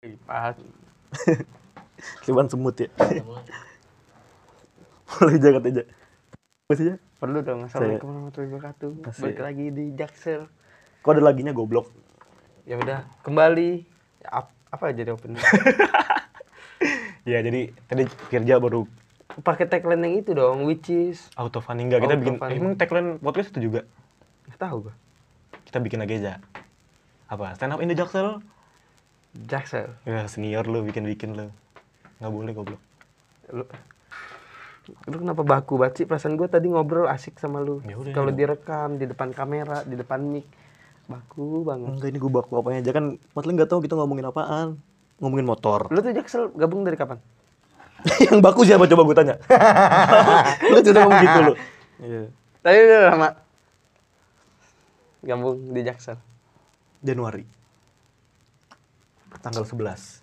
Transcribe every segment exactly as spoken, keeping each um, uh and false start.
Lipat. Liban semut ya. Boleh jagat aja. Masih ya? Perlu dong. Assalamualaikum warahmatullahi wabarakatuh. Masih. Balik lagi di Jaksel. Kok ada laginya goblok? Ya udah, kembali. Ap- apa aja deh opening? Ya jadi tadi Firja baru Pakai tagline yang itu dong, which is auto funny enggak kita Auto bikin. funny. Eh, emang tagline podcast itu juga nggak tahu gua. kita bikin lagi aja. Apa? Stand up in the Jaksel. Jaksel. Ya senior lu bikin-bikin lu. Enggak boleh goblok. Lu, lu kenapa baku banget sih? Perasaan gua tadi ngobrol asik sama lu. Ya udah, Kalau ya. direkam di depan kamera, di depan mic, baku banget. Enggak, ini gue baku apanya aja kan. Matling enggak tahu kita ngomongin apaan. Ngomongin motor. Lu tuh Jaksel gabung dari kapan? Yang baku siapa coba gue tanya. Lu sudah ngomong gitu lu. Iya. Tadi udah lama. Gabung di Jaksel. Januari. Tanggal sebelas.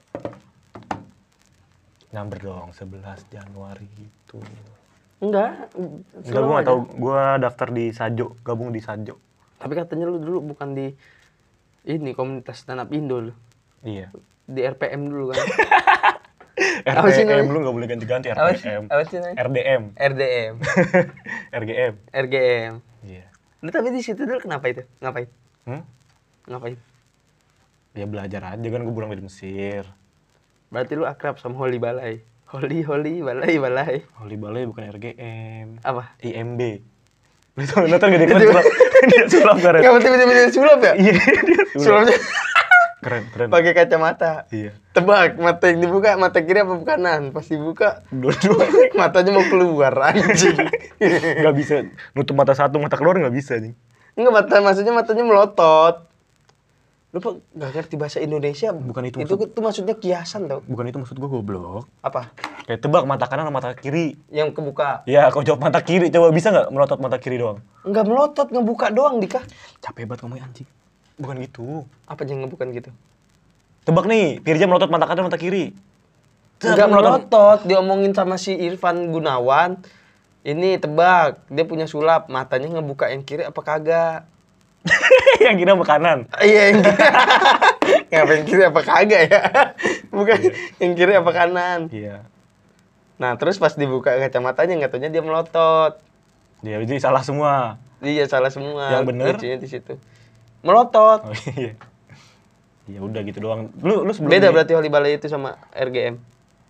Nyamber dong, sebelas Januari gitu. Enggak. Enggak, gue gak tau, gue daftar di Sajo, gabung di Sajo. Tapi katanya lu dulu bukan di ini komunitas stand up Indo lu. Iya. Di R P M dulu kan. R D M lu gak boleh ganti-ganti R Apa P sih? M. Apa sih namanya? R D M. R D M. R G M. R G M. Iya. Lu tapi di situ dulu kenapa itu? Ngapain? Hmm? Ngapain? Ya belajar aja kan, gue pulang dari Mesir. Berarti lu akrab sama Holy Balai. Holy Holy Balai Balai. Holy Balai bukan R G M. Apa? I M B. Lu tau nonton gak dia keren sulap? Dia sulap keren. Enggak tiba-tiba dia sulap ya? Iya, dia sulap. Sulapnya Keren, keren. pakai kacamata. Iya. Tebak, mata yang dibuka mata kiri apa kanan? Pas dibuka Dua-dua. matanya mau keluar anjing. Gak bisa nutup mata satu, mata keluar gak bisa nih. Enggak, mata maksudnya matanya melotot. Lu Pak enggak ngerti bahasa Indonesia. Bukan itu Itu maksud- tuh maksudnya kiasan tau. Bukan itu maksud gue, goblok. Apa? Kayak tebak mata kanan sama mata kiri. Yang kebuka. Ya, kau jawab mata kiri. Coba bisa nggak melotot mata kiri doang? Enggak melotot, ngebuka doang Dika. Capek banget ngomongnya anjing. Bukan gitu. Apa yang ngebukan gitu? Tebak nih, Firja melotot mata kanan mata kiri. Cek, Enggak melotot, diomongin sama si Irfan Gunawan. Ini tebak, dia punya sulap, matanya ngebuka yang kiri apa kagak? Yang kiri sama kanan. Iya, yang kiri. Ngapain kiri apa kagak ya? Bukan yang kiri apa kanan. Iya. Nah, terus pas dibuka kacamatanya nggak taunya dia melotot. Dia jadi salah semua. Iya, salah semua. Yang bener? Lucunya di situ. Melotot. Oh iya. Ya udah gitu doang. Lu lu sebelum Beda di- berarti Holy Balai itu sama R G M.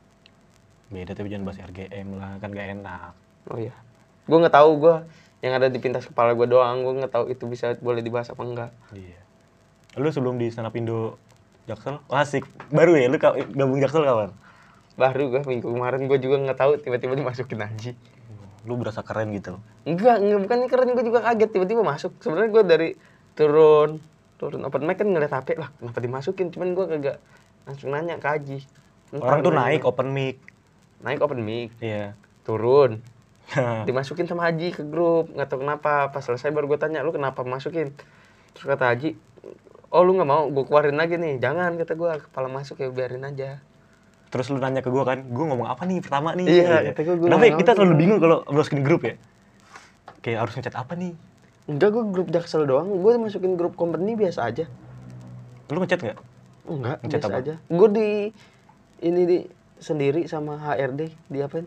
Beda, tapi jangan bahas R G M lah, kan gak enak. Oh iya. Gue nggak tahu gue yang ada di pintas kepala gue doang. Gue nggak tahu itu bisa boleh dibahas apa enggak. Iya. Lu sebelum di stand up Indo Jaksel, oh, asik. Baru ya lu ka- gabung Jaksel kapan? Baru gue minggu kemarin gue juga nggak tahu tiba-tiba dimasukin aja. Lu berasa keren gitu. Enggak, enggak bukan keren, gue juga kaget tiba-tiba masuk. Sebenarnya gue dari turun turun open mic kan ngeliat H P lah, kenapa dimasukin? Cuman gue kagak langsung nanya ke Haji. Ntar Orang tuh nanya. naik open mic. naik open mic, Iya. turun, dimasukin sama Haji ke grup, nggak tahu kenapa. Pas selesai baru gue tanya, lu kenapa masukin? Terus kata Haji, oh lu nggak mau, gue keluarin lagi nih. Jangan, kata gue, kepala masuk ya biarin aja. Terus lu nanya ke gua kan, gua ngomong apa nih pertama nih? Iya, kata gua, gua Kenapa ya ngomong kita apa? selalu bingung kalau masukin grup ya? Kayak harus ngechat apa nih? Enggak, gue grup Jaksel doang, gue masukin grup company biasa aja. Lu ngechat nggak? Enggak, Ngechat biasa apa? aja. Gue di ini di sendiri sama H R D, di apain?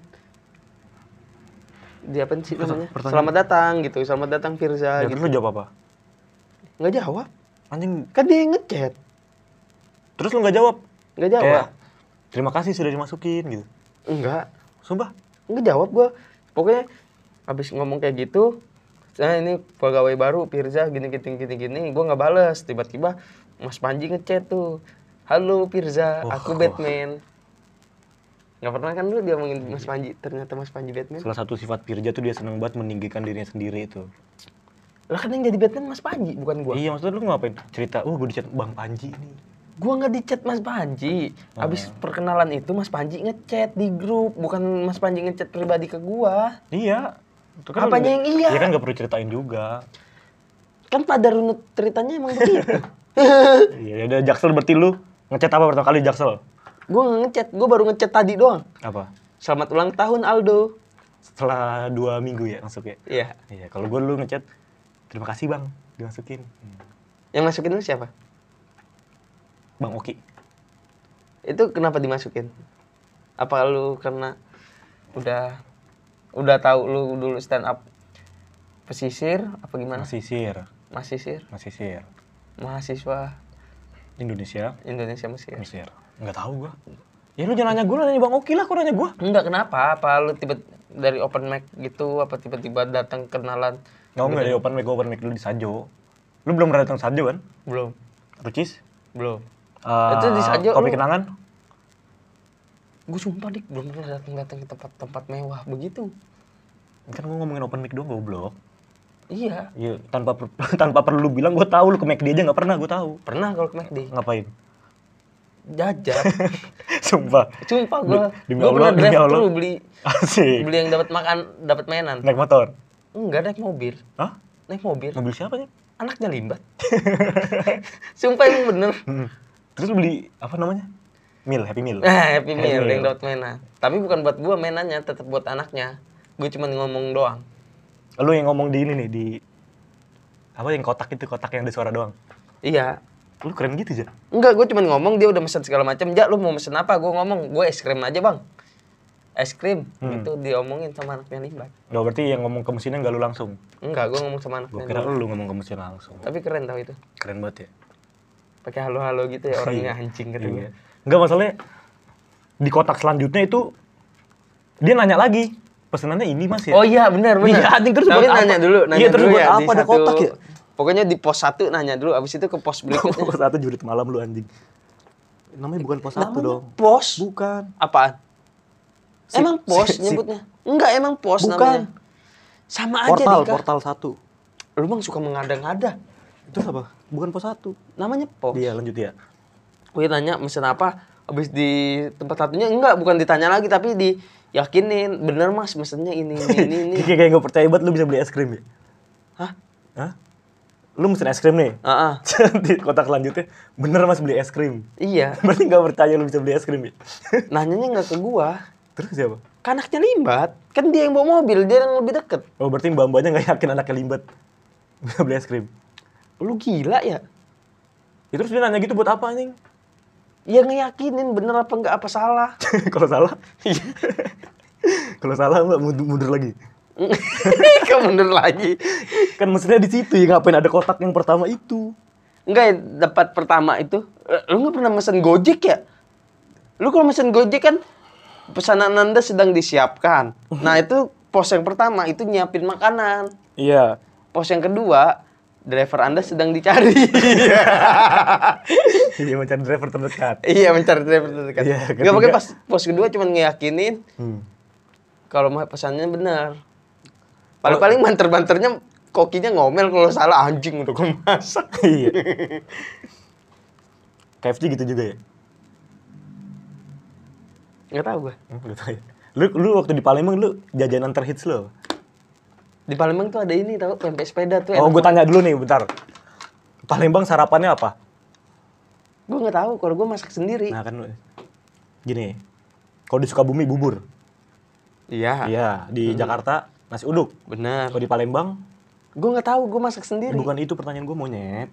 Di apain sih namanya? pertanyaan. Selamat datang gitu, selamat datang Firza Ya, gitu. terus lu jawab apa? Nggak jawab, Anjing, kan dia yang ngechat, terus lu nggak jawab? nggak jawab. Kayak, terima kasih sudah dimasukin gitu. Enggak, Sumpah? nggak jawab gue. Pokoknya abis ngomong kayak gitu, saya ini pegawai baru Firza gini gini gini gini, gue nggak bales. Tiba-tiba Mas Panji ngechat tuh, halo Firza, Oh, aku oh. Batman. Nggak pernah kan lu dia ngomongin Mas Panji, ternyata Mas Panji Batman. Salah satu sifat Firja tuh dia seneng banget meninggikan dirinya sendiri itu. Lah kan yang jadi Batman Mas Panji, bukan gua. Iya, maksudnya lu ngapain? Cerita, oh gue dicat Bang Panji nih. Gua nggak dicat Mas Panji. Abis perkenalan itu Mas Panji ngechat di grup, bukan Mas Panji ngechat pribadi ke gua. Iya. Itu Apanya yang iya? Ya kan gak perlu ceritain juga. Kan pada runut ceritanya emang begitu. Iya, udah Jaksel berarti lu ngechat apa pertama kali Jaksel? Gua nggak ngechat, gua baru ngechat tadi doang. Apa? Selamat ulang tahun Aldo. Setelah dua minggu ya masuk ya? Iya. Iya, kalau gue dulu ngechat, terima kasih bang, dimasukin. Hmm. Yang masukin lu siapa? Bang Oki. Itu kenapa dimasukin? Apa lu karena udah udah tahu lu dulu stand up pesisir apa gimana? Masisir. Masisir. Masisir. Mahasiswa Indonesia. Indonesia Mesir. Mesir. Enggak tahu gua. Ya lu jangan nanya gua, nanya Bang Oki lah, kok nanya gua. Enggak, kenapa? Apa lu tiba dari open mic gitu apa tiba-tiba datang kenalan? Enggak, enggak dari open mic, gua open mic dulu di Sajo. Lu belum pernah datang Sajo kan? Belum. Rucis? Belum. Uh, Itu di Sajo Kopi lu- Kenangan? Gue sumpah dik belum pernah datang-datang ke tempat-tempat mewah begitu. Kan gua ngomongin open mic doang, goblok. Iya. Iya, tanpa per- tanpa perlu bilang gua tahu lu ke McD aja enggak pernah, gua tahu. Pernah kalau ke McD. Ngapain? Jajan. Sumpah. Sumpah gue. Demi Gue pernah Allah, demi drive Allah. thru beli Asik. beli yang dapat makan, dapat mainan. Naik motor. Enggak, naik mobil. Hah? Naik mobil. Mobil siapa nih? Anaknya limbat. Sumpah emang bener. Hmm. Terus lu beli apa namanya? Meal, Happy Meal. Nah, Happy Happy Meal Meal. yang dapat mainan. Tapi bukan buat gua mainannya, tetap buat anaknya. Gue cuma ngomong doang. Lu yang ngomong di ini nih, di apa yang kotak itu, kotak yang ada suara doang. Iya. Lu keren gitu aja. Enggak, gue cuma ngomong, dia udah mesen segala macam. Ja, lu mau mesen apa? Gue ngomong, gue es krim aja bang. Es krim, Hmm. itu diomongin sama anaknya limbat. Nggak, berarti yang ngomong ke mesinnya nggak lu langsung. Enggak, gue ngomong sama Gua anaknya kira limbat. lu ngomong ke mesin langsung. Tapi keren tau itu. Keren banget ya. Pakai halo-halo gitu ya, orangnya Iya. anjing kata gue. Iya. Nggak, masalahnya di kotak selanjutnya itu dia nanya lagi. Pesenannya ini mas ya? Oh iya, benar benar. Iya, anjing, terus Tapi buat apa? nanya dulu, nanya Iya, terus dulu buat ya apa di ada satu. kotak ya? Pokoknya di pos satu nanya dulu, abis itu ke pos berikutnya. Pos satu jurit malam lu anjing. Namanya bukan pos satu Namanya dong. Pos? Bukan. Apaan? Sip, Emang pos sip, sip. nyebutnya? Enggak, emang pos Bukan. namanya. Sama aja Portal, Dika. portal satu. Lu bang suka mengada-ngada. Itu apa? Bukan pos satu. Namanya pos. Iya, lanjut ya. Gue tanya mesen apa, habis di tempat satunya enggak, bukan ditanya lagi tapi diyakinin, bener mas mesennya ini ini ini. ini. Kayak kayak nggak percaya banget lu bisa beli es krim ya? Hah? Hah? Lu mesen es krim nih? Ah, ah. Di kotak selanjutnya, bener mas beli es krim. Iya. Berarti nggak percaya lu bisa beli es krim ya? Nanyanya nggak ke gua, Terus siapa? kan anaknya limbat, kan dia yang bawa mobil, dia yang lebih deket. Oh berarti mbak-mbaknya nggak yakin anaknya limbat bisa beli es krim. Lu gila ya? Ya, terus dia nanya gitu buat apa anjing? Ya ngeyakinin bener apa enggak, apa salah. Kalau salah? Kalau salah mbak mundur, mundur lagi. Kamu mundur lagi. Kan maksudnya di situ ya, ngapain ada kotak yang pertama itu? Enggak ya, dapat pertama itu. Eh, Lu nggak pernah mesen Gojek ya? Lu kalau mesen Gojek kan pesanan Anda sedang disiapkan. Nah, itu pos yang pertama itu nyiapin makanan. Iya. Pos yang kedua, driver Anda sedang dicari. Iya mencari driver terdekat. Iya, mencari driver terdekat. Iya, Enggak ketiga- pakai pas pos kedua cuma ngeyakinin Hmm. kalau mah pesannya benar. Paling-paling banter-banternya kokinya ngomel kalau salah, anjing udah gue masak. Iya. K F C gitu juga ya? Nggak tahu gue. Hmm, nggak tahu ya. Lu, lu waktu di Palembang lu jajanan terhits lu apa? Di Palembang tuh ada ini tahu pempek sepeda tuh. Oh, gue tanya dulu nih, bentar. Palembang sarapannya apa? Gue nggak tahu kalau gue masak sendiri. Nah kan, gini. Kalau di Sukabumi bubur. Iya. Iya. Di Jakarta nasi uduk. Benar. Kalau di Palembang, Gue nggak tahu, gue masak sendiri. bukan itu pertanyaan gue, monyet.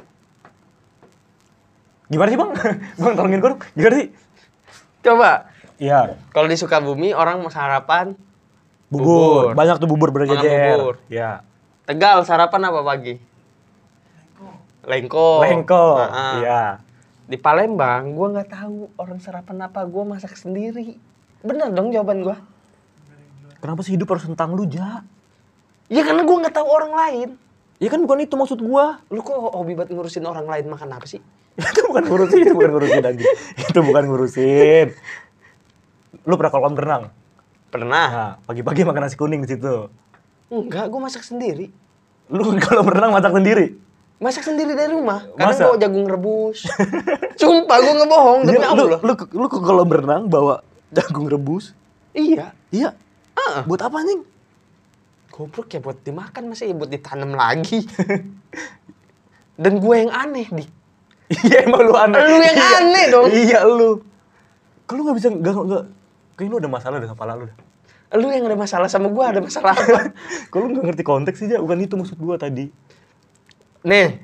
Gimana sih bang? Bang tolongin gue dong. Gimana sih? Coba. Iya. Kalau di Sukabumi orang mau sarapan Bubur. Bubur. Banyak tuh bubur berjejer. Makan bubur. Iya. Tegal sarapan apa pagi? Lengko. Lengko. Nah, Iya. Di Palembang gue nggak tahu orang sarapan apa, gue masak sendiri. Bener dong jawaban gue. Kenapa sih hidup harus tentang lu, Ja? Ya karena gue nggak tahu orang lain. Ya kan bukan itu maksud gua. Lu kok hobi banget ngurusin orang lain makan apa sih? Itu bukan ngurusin, itu bukan ngurusin anjing. Itu bukan ngurusin. Lu pernah kolam renang? Pernah. Nah, pagi-pagi makan nasi kuning di situ. Enggak, gue masak sendiri. Lu kalau berenang masak sendiri? Masak sendiri dari rumah. Kadang Masa? bawa jagung rebus. Sumpah gue ngebohong demi Iya, lu, Allah. lu, lu, lu ke kolam berenang bawa jagung rebus? Iya. Iya. Heeh. Buat apa anjing? Goblok ya buat dimakan, masa ya buat ditanam lagi. Dan gue yang aneh, Dik. Iya emang lu aneh. Lu yang Iya. aneh dong. Iya lu. Kalau lu gak bisa, gak, gak. Kayaknya lu ada masalah dengan kepala lu dah. Lu yang ada masalah sama gue, ada masalah apa? Kalau lu gak ngerti konteks sih, Ja. Bukan itu maksud gua tadi. Nih,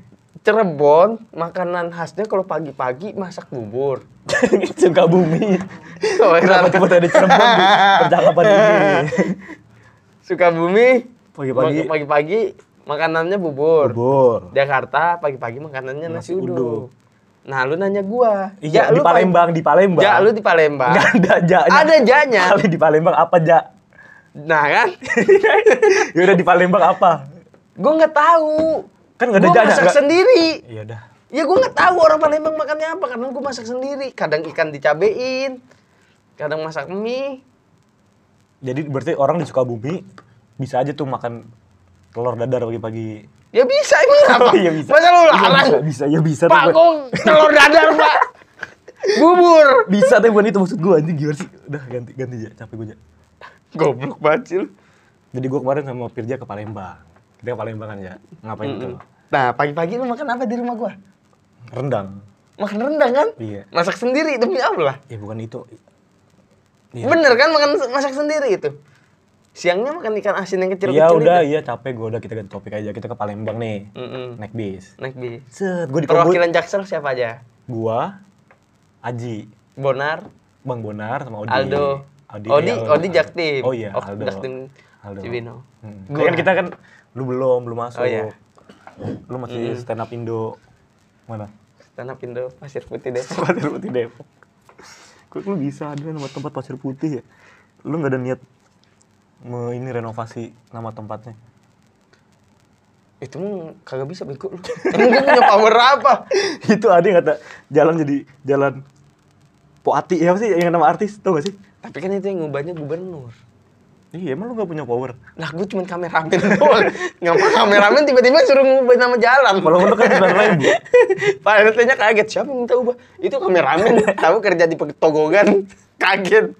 Cirebon, makanan khasnya kalau pagi-pagi masak bubur. Sukabumi. Oh, Kenapa salah. coba tadi Cirebon di percakapan ini? Sukabumi, Pagi-pagi. ma- pagi-pagi makanannya bubur. Bubur. Jakarta, pagi-pagi makanannya nasi, Nasi uduk. uduk. Nah, lu nanya gua. Iya, Ja, di lu Palembang, di Palembang. Ja, lu di Palembang. Nggak ada jaknya. Ada jaknya. Kali di Palembang apa jak? Nah kan, Ya udah di Palembang apa? gua nggak tahu. Kan nggak ada Gua jaknya. masak nggak- sendiri. Iya udah. Ya gua nggak tahu orang Palembang makannya apa karena gua masak sendiri. Kadang ikan dicabein, kadang masak mie. Jadi berarti orang di Sukabumi bisa aja tuh makan telur dadar pagi-pagi. Ya bisa emang apa? Oh, iya bisa. Masa lu Iya, larang? bisa, bisa, ya bisa. Pak, Tapi- kok telur dadar, Pak? Bubur. Bisa tapi bukan itu maksud gua anjing gimana sih? Udah ganti ganti aja, capek gua aja. Goblok banget sih lu. Jadi gua kemarin sama Firja ke Palembang. Kita ke Palembang kan ya. Ngapain Mm-mm. tuh? Nah, pagi-pagi lu makan apa di rumah gua? Rendang. Makan rendang kan? Iya. Masak sendiri demi Allah. Ya bukan itu. Iya. Bener kan makan masak sendiri itu? Siangnya makan ikan asin yang kecil-kecil Iya udah, itu. iya capek gua udah kita ganti topik aja. Kita ke Palembang nih. Mm-mm. Naik bis. Naik bis. Set, gua di Kobul. Perwakilan Jaksel siapa aja? Gua, Aji, Bonar, Bang Bonar sama Odi. Aldo. Odi, Odi, iya, Odi Jaktim. Oh iya, Oh, Aldo. Jaktim Aldo. Cibino. Hmm. Gua. Kan kita kan lu belum, belum masuk. Oh iya. Lu masih stand up Indo. Mana? Tanah Pindo, Pasir Putih Depok. Pasir Putih Depok. Kok lu bisa ada nama tempat Pasir Putih ya? Lu nggak ada niat me ini renovasi nama tempatnya? Itu mah kagak bisa bego lu. Emang gua punya power apa? Itu ada yang kata jalan jadi jalan Poati ya apa sih yang nama artis tau gak sih? Tapi kan itu yang ngubahnya gubernur. Iya emang lu gak punya power. Lah gue cuma kameramen doang. Ngapa kameramen tiba-tiba suruh ngubah nama jalan. Kalau lu kan sembilan ribu. Pak R T-nya kaget, siapa yang minta ubah? Itu kameramen, tahu kerja di Petogogan. Kaget.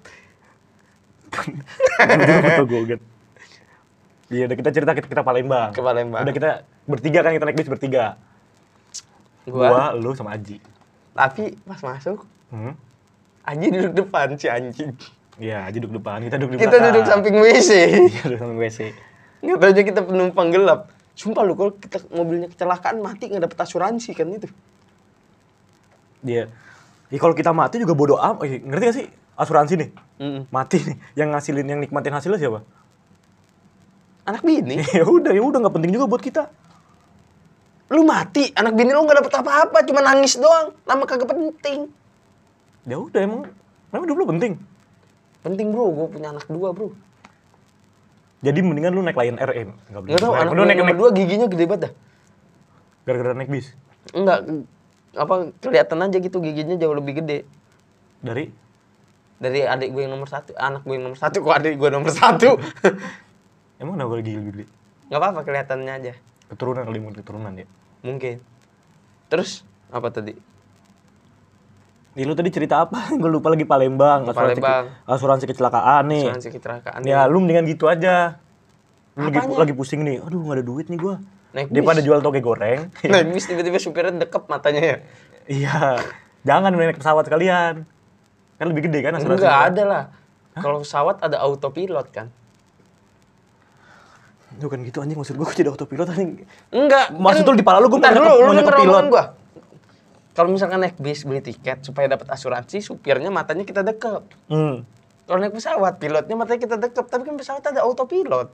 Betul gue. Iya udah kita cerita kita, kita Palembang. Ke Palembang. Udah kita bertiga kan kita naik bis bertiga. Gua, Gua, lu sama Aji. tapi pas masuk, Hmm? Aji duduk depan si anjing. Iya, Aji duduk depan, kita duduk di Kita belakang. duduk samping W C. Iya, duduk samping W C. Nggak tahu aja kita penumpang gelap. Sumpah lu, kalau kita mobilnya kecelakaan mati nggak dapet asuransi kan itu. Dia, ya kalau kita mati juga bodoh amat. Eh, ngerti gak sih asuransi nih? Mm-mm. Mati nih, yang ngasilin, yang nikmatin hasilnya siapa? Anak bini, ya udah, ya udah nggak penting juga buat kita. lu mati, anak bini lu nggak dapet apa-apa, cuma nangis doang. Lama kagak penting. Ya udah emang, emang hidup lu penting. Penting bro, gue punya anak dua bro. Jadi mendingan lu naik Lion Air M. Nggak Nggak tahu, anak lu gue naik, nomor naik dua giginya gede banget dah. gara-gara naik bis. Enggak, apa kelihatan aja gitu giginya jauh lebih gede Dari dari adik gue yang nomor satu, anak gue yang nomor satu, kok adik gue nomor satu. emang kenapa gigi lebih gede? Nggak apa-apa kelihatannya aja, Keturunan kali mungkin keturunan ya. mungkin. Terus apa tadi? Nih lu tadi cerita apa? Gue lupa lagi Palembang. Asuransi, Palembang. asuransi kecelakaan nih. Asuransi kecelakaan. Ya lu mendingan gitu aja. Lu lagi, Apanya? lagi pusing nih. Aduh nggak ada duit nih gua. Naik bis. Daripada jual toge goreng. Naik bis tiba-tiba supirnya dekep matanya ya. Iya. Jangan naik pesawat sekalian. Kan lebih gede kan asuransi. Enggak ada lah. Kalau pesawat ada autopilot kan. Bukan gitu anjing, maksud gua kok jadi autopilot anjing. Enggak. Maksud lu di pala lu gua Ntar mau dulu, nyekep- lu mau nyekep denger pilot. omongan gua. Kalau misalkan naik bis beli tiket supaya dapat asuransi, supirnya matanya kita dekep. Hmm. Kalau naik pesawat, pilotnya matanya kita dekep, tapi kan pesawat ada autopilot.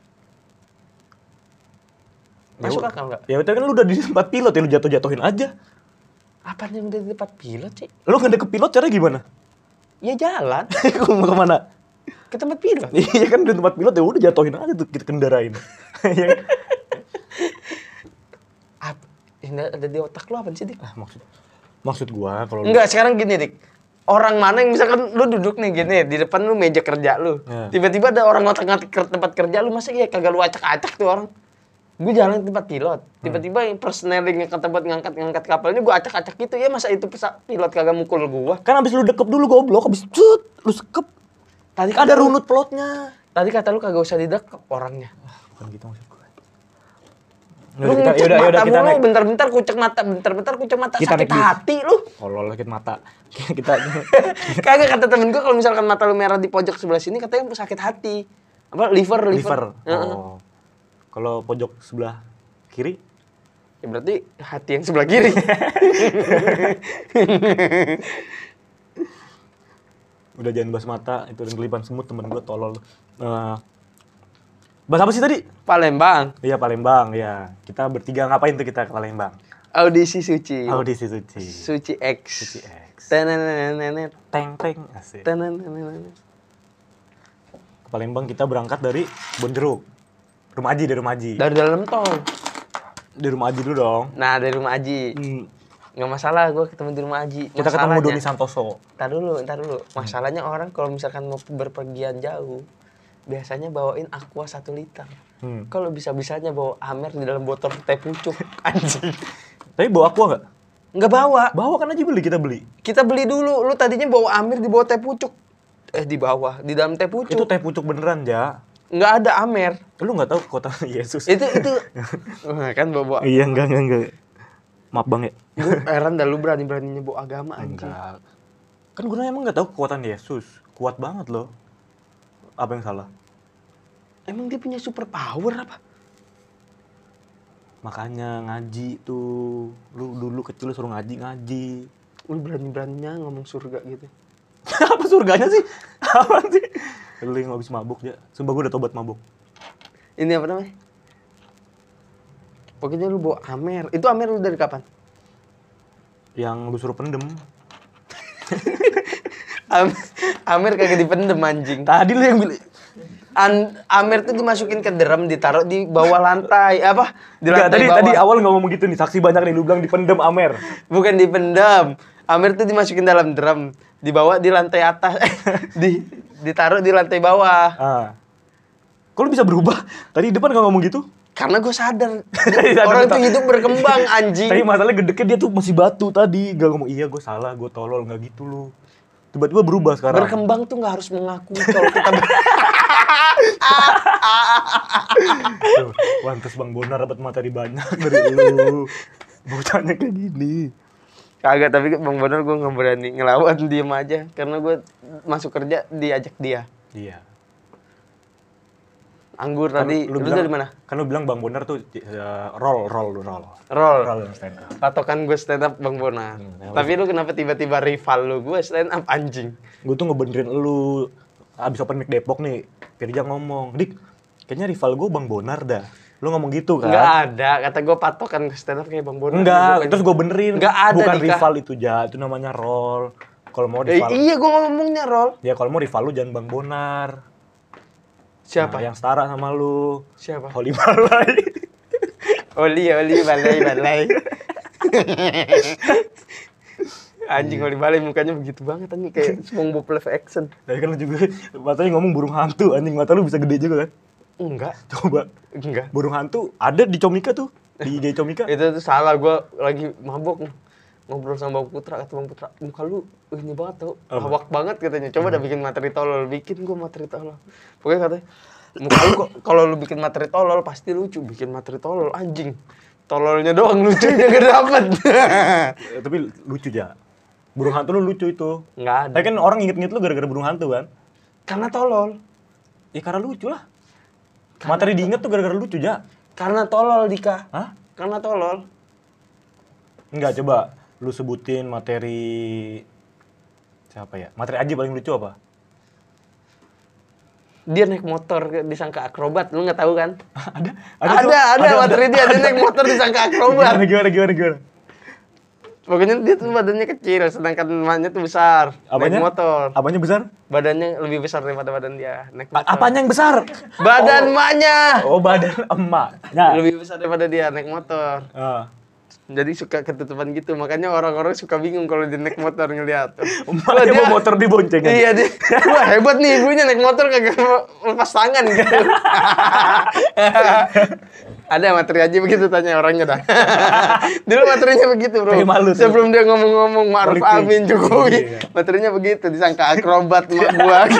Masuk Ya, akal nggak? Ya udah kan lu udah di tempat pilot ya lu jatuh-jatuhin aja. Apa yang udah di tempat pilot sih? Lu nggak deket pilot caranya gimana? Ya jalan Gua mau kemana? ke tempat pilot. Iya kan di tempat pilot ya udah jatuhin aja tuh kita kendarain. Iya kan? Apa? Yang ada di otak lu apa sih, Dik? Ah, maksud maksud gua kalau lu- Enggak, sekarang gini, Dik. Orang mana yang misalkan lu duduk nih gini, di depan lu meja kerja lu. Ya. Tiba-tiba ada orang ngotak-ngatik ke tempat kerja lu, masa iya kagak lu acak-acak tuh orang? Gue jalan ke tempat pilot, tiba-tiba yang persneling ke tempat ngangkat-ngangkat kapalnya gue acak-acak gitu, ya masa itu pesa- pilot kagak mukul gua? kan abis lu dekep dulu goblok, abis cut, lu sekep. Tadi Ada kata lu- runut pelotnya. Tadi kata lu kagak usah didekep orangnya. Bukan gitu maksud gua. Lu Yaudah, kita, ngucek yaudah, yaudah, mata kita mulu, naik. bentar-bentar kucek mata, bentar-bentar kucek mata, Kita sakit naik bis. hati lu. Kolol sakit mata. Kita Kagak, kata temen gue kalau misalkan mata lu merah di pojok sebelah sini katanya sakit hati. Apa liver liver. liver. Heeh. Oh. Kalau pojok sebelah kiri Ya berarti hati yang sebelah kiri. Udah jangan bahas mata, itu dan kelipan semut temen gue tolol. Uh, bahas apa sih tadi? Palembang. Iya Palembang, ya. Kita bertiga ngapain tuh kita ke Palembang? Audisi Suci. Audisi Suci. Suci X. Suci X. Tenenenenet. Teng teng asik. Tenenenenet. Ke Palembang kita berangkat dari Bonjeruk. Rumah Aji, dari rumah Aji. Dari dalam tol. Di rumah Aji dulu dong. Nah, dari rumah Aji. Hmm. Nggak masalah gue ketemu di rumah Aji. Kita ketemu Doni Santoso. Ntar dulu, ntar dulu. Masalahnya hmm. orang kalau misalkan mau berpergian jauh, biasanya bawain aqua satu liter. Hmm. Kalau bisa-bisanya bawa Amer di dalam botol teh pucuk, anjing. Tapi bawa aqua nggak? Nggak bawa. Bawa kan aja beli, kita beli. Kita beli dulu. Lu tadinya bawa Amer di bawah teh pucuk. Eh, di bawah. Di dalam teh pucuk. Itu teh pucuk beneran, Ja. Nggak ada Amer. Lu nggak tahu kota Yesus? Itu, itu. Kan bawa. Iya, enggak, enggak, enggak. Maaf bang ya. Gue heran dah lu berani-beraninya bawa agama anjing. Enggak. Kan gue emang nggak tahu kekuatan Yesus. Kuat banget loh. Apa yang salah? Emang dia punya super power apa? Makanya ngaji tuh. Lu dulu kecil lu suruh ngaji, ngaji. Lu berani-beraninya ngomong surga gitu. Apa surganya sih? Apa sih? Lu yang habis mabuk ya. Sumpah gue udah tobat mabuk. Ini apa namanya? Pokoknya lu bawa Amer. Itu Amer lu dari kapan? Yang lu suruh pendem. Am Amer kagak dipendem anjing. Tadi lu yang bilang. An Amer tuh dimasukin ke drum, ditaruh di bawah lantai. Apa? Di lantai Nggak, tadi, bawah. Tadi awal nggak ngomong gitu nih. Saksi banyak nih. Lu bilang dipendem Amer. Bukan dipendam. Amer tuh dimasukin dalam drum. Dibawa di lantai atas. di Ditaruh di lantai bawah. Ah. Kok lu bisa berubah? Tadi depan nggak ngomong gitu? Karena gue sadar. Orang tuh hidup berkembang anjing. Tapi masalahnya gedeknya dia tuh masih batu tadi. Gak ngomong, iya gue salah, gue tolol. Gak gitu lu. Tiba-tiba berubah sekarang. Berkembang tuh gak harus mengakui kalau kita ber... Tuh, pantes Bang Bonar dapat materi banyak dari lu. Bocahnya kayak gini. Kagak, tapi Bang Bonar gue gak berani ngelawan, diem aja. Karena gue masuk kerja diajak dia. Iya. Anggur kan tadi, lu, lu dari mana? Kan lu bilang Bang Bonar tuh uh, roll, roll, roll. Roll. Roll yang stand up. Patokan gue stand up Bang Bonar. Hmm, tapi lu kenapa tiba-tiba rival lu? Gue stand up anjing. Gue tuh ngebenerin lu. Abis open mic Depok nih, Firja ngomong, Dik, kayaknya rival gue Bang Bonar dah. Lu ngomong gitu kan? Nggak ada, kata gue patokan stand up kayak Bang Bonar. Enggak, terus gue benerin. Nggak ada, bukan Dika. Rival itu, Ja. Itu namanya roll. Kalau mau rival. Eh, iya, gue ngomongnya roll. Ya kalau mau rival lu jangan Bang Bonar. Siapa? Nah, yang setara sama lu. Siapa? Oli Balai. Oli, Oli, Balai, Balai. Anjing, Oli Balai mukanya begitu banget anjing, kayak SpongeBob live action. Tapi kan lu juga matanya ngomong burung hantu, anjing mata lu bisa gede juga kan? Enggak. Coba. Enggak. Burung hantu ada di Comika tuh, di I G Comika. Itu tuh salah, gue lagi mabok ngobrol sama Bang Putra, kata Bang Putra, muka lu ini banget tau, lawak banget katanya. Coba dah bikin materi tolol, bikin gue materi tolol. Pokoknya katanya, muka lu kok kalau lu bikin materi tolol pasti lucu, bikin materi tolol anjing. Tololnya doang lucunya gak dapet. Tapi lucu ja. Burung hantu lu lucu itu. Nggak ada. Tapi kan orang inget-inget lu gara-gara burung hantu kan? Karena tolol. Ya karena lucu lah. Karena materi diinget tuh gara-gara lucu ja. Karena tolol Dika. Hah? Karena tolol. Enggak, coba lu sebutin materi siapa ya? Materi Aji paling lucu apa? Dia naik motor disangka akrobat, lu nggak tahu kan? ada, ada, ada, ada, ada materi ada. Dia, dia naik motor disangka akrobat. Gimana, gimana, gimana, gimana? Pokoknya dia tuh badannya kecil, sedangkan emaknya tuh besar. Apanya? Naik motor. Apanya besar? Badannya lebih besar daripada badan dia. Naik motor. Apanya yang besar? Badan oh. emaknya. Oh, badan emaknya. Lebih besar daripada dia naik motor. Uh. Jadi suka ketutupan gitu, makanya orang-orang suka bingung kalau dia naik motor ngeliat. Emaknya dia, mau motor diboncengan. Iya, dia, wah hebat nih ibunya naik motor kagak lepas tangan gitu. Ada materi aja begitu tanya orangnya dah. Dulu materinya begitu bro. Malu, sebelum dia ngomong-ngomong Ma'ruf Amin Jokowi, iya. Materinya begitu, disangka akrobat mak gua.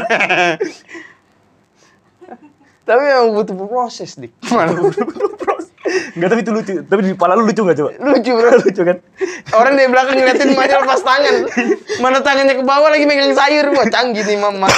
Tapi memang butuh proses dik. Butuh proses. Enggak, tapi itu lucu. Tapi di kepala lu lucu nggak coba? Lucu bro. Lucu kan? Orang di belakang ngeliatin emaknya lepas tangan. Mana tangannya ke bawah lagi megang sayur. Wah canggih nih mama.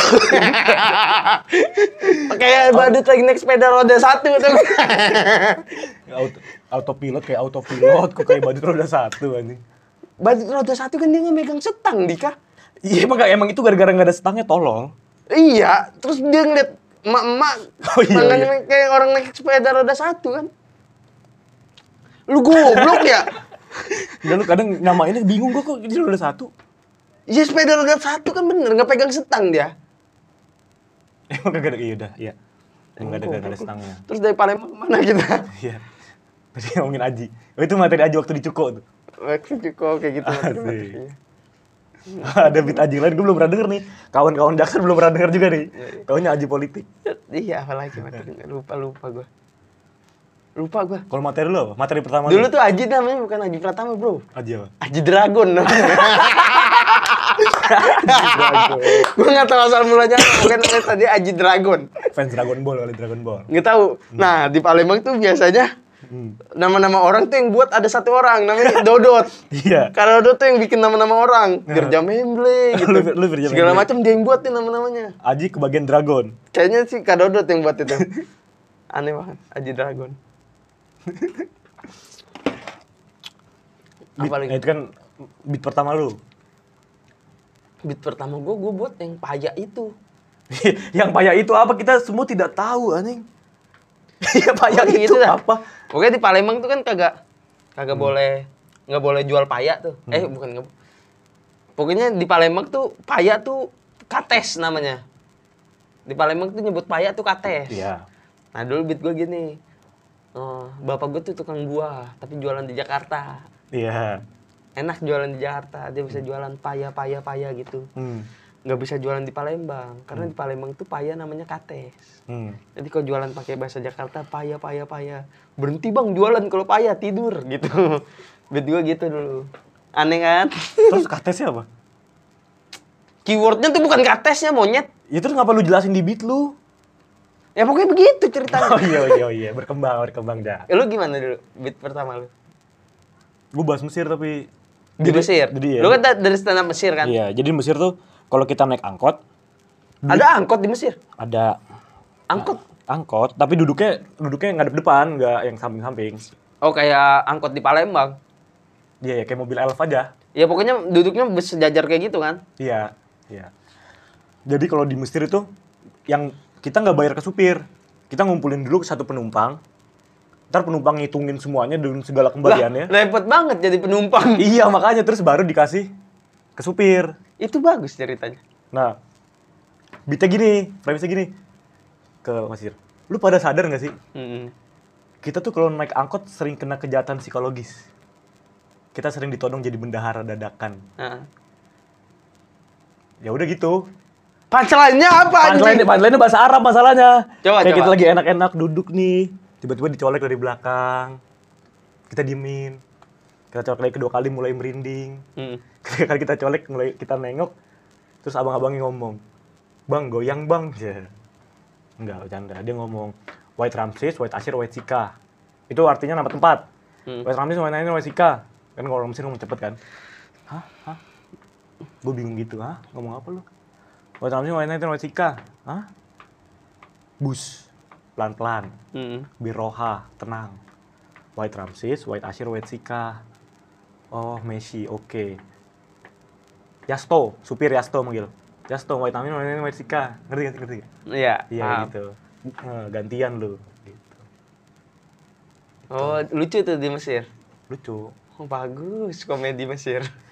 Kayak badut lagi naik sepeda roda satu. autopilot kayak autopilot, kok kayak badut roda satu anjing. Badut roda satu kan dia nggak megang setang, Dika. Iya emang emang itu gara-gara nggak ada stangnya tolol. Iya, terus dia ngeliat emak-emak Oh, iya, tangannya iya. kayak orang naik sepeda roda satu kan. Lu goblok ya? Dan lu kadang namainnya bingung gua kok jadi roda satu. Iya sepeda roda satu kan bener, nggak pegang setang dia. Emang kagak ada, iya udah, iya. Emang nggak ada nggak ada stangnya. Terus dari Palembang kemana kita? Iya. Tadi ngomongin Aji. Oh, itu materi Aji waktu di Cuko tuh. Waktu cukup kayak gitu. Asik. Ada beat Aji lain, gue belum pernah denger nih. Kawan-kawan Jaksel belum pernah denger juga nih. Taunya Aji politik. Iya, apalagi materinya. Lupa, lupa gue. Lupa gue. Kalau materi lo apa? Materi pertama Dulu lu? tuh Aji namanya bukan Aji Pratama, bro. Aji apa? Aji Dragon namanya. Gue nggak tahu asal mulanya. Mungkin namanya tadi Aji Dragon. Fans Dragon Ball kali, Dragon Ball. Nggak tahu. Nah, di Palembang tuh biasanya Hmm. nama-nama orang tuh yang buat ada satu orang namanya Dodot. Iya. Karena Dodot tuh yang bikin nama-nama orang. Gerja Memble gitu. Lu- lu Gerja Segala Memble. macam dia yang buat nih nama-namanya. Aji kebagian Dragon. Kayaknya sih Kak Dodot yang buat itu. Aneh banget, Aji Dragon. Beat, Apa lagi? nah, itu kan beat pertama lu. Beat pertama gue, gue buat yang payah itu. Yang payah itu apa? Kita semua tidak tahu anjing. Iya payah Oh, itu gitu dah. apa? Pokoknya di Palembang tuh kan kagak kagak Hmm. boleh nggak boleh jual payah tuh. Eh bukan nggak. Pokoknya di Palembang tuh payah tuh kates namanya. Di Palembang tuh nyebut payah tuh kates. Iya. Nah dulu beat gue gini. Oh, bapak gue tuh tukang buah tapi jualan di Jakarta. Iya. Enak jualan di Jakarta, dia bisa jualan payah payah payah gitu. Hmm. Nggak bisa jualan di Palembang karena di Palembang tuh payah namanya kates. Hmm. Jadi kalau jualan pakai bahasa Jakarta payah payah payah. Berhenti bang jualan kalau payah tidur gitu. Beat gue gitu dulu. Aneh kan? Terus katesnya apa? Keywordnya tuh bukan katesnya monyet. Ya terus ngapa lu jelasin di beat lu? Ya pokoknya begitu ceritanya. Oh iya iya oh, iya berkembang berkembang dah. Ya, lu gimana dulu beat pertama lu? Gue bahas Mesir tapi Di Mesir. Jadi ya. Lu kan da- dari stand up Mesir kan? Iya, jadi di Mesir tuh kalau kita naik angkot Ada angkot di Mesir. ada Angkot. angkot tapi duduknya duduknya ngadep depan, nggak yang samping-samping. Oh kayak angkot di Palembang. Iya ya kayak mobil elf aja. Ya pokoknya duduknya sejajar kayak gitu kan? Iya, iya. Jadi kalau di Mesir itu yang kita nggak bayar ke supir, kita ngumpulin dulu ke satu penumpang. Ntar penumpang ngitungin semuanya dengan segala kembaliannya. Lah, repot banget jadi penumpang. Iya makanya terus baru dikasih ke supir. Itu bagus ceritanya. Nah, beatnya gini, premisnya gini ke Mesir. Lu pada sadar nggak sih? Mm-mm. Kita tuh kalau naik angkot sering kena kejahatan psikologis. Kita sering ditodong jadi bendahara dadakan. Nah. Ya udah gitu. Punchline-nya apa anjing? Punchline punchline bahasa Arab masalahnya. Coba, Kayak coba. kita lagi enak-enak duduk nih, tiba-tiba dicolek dari belakang. Kita diemin. Kita colek lagi kedua kali mulai merinding. Hmm. Ketiga kali kita colek mulai kita nengok. Terus abang-abangnya ngomong, "Bang, goyang, Bang." Ya. Enggak, bercanda. Dia ngomong, "White Ramses, White Ashir, White Sika." Itu artinya nama tempat. Hmm. White Ramses, White Ashir, White Sika. Kan kalau orang Mesir ngomong cepet kan. Hah? Hah? Gue bingung gitu, hah? Ngomong apa lu? White Ramses, White Ashir, White Sika. Hah? Bus. Pelan-pelan. Hmm. Biroha, tenang. White Ramses, White Ashir, White Sika. Oh, Messi, oke. Yasto, supir Yasto manggil. Yasto, White Ramses, White Ashir, White Sika. Ngerti ngerti ngerti? Iya. Iya paham. gitu. Eh, gantian lu. Gitu. Oh, lucu tuh di Mesir. Lucu. Oh, bagus komedi Mesir.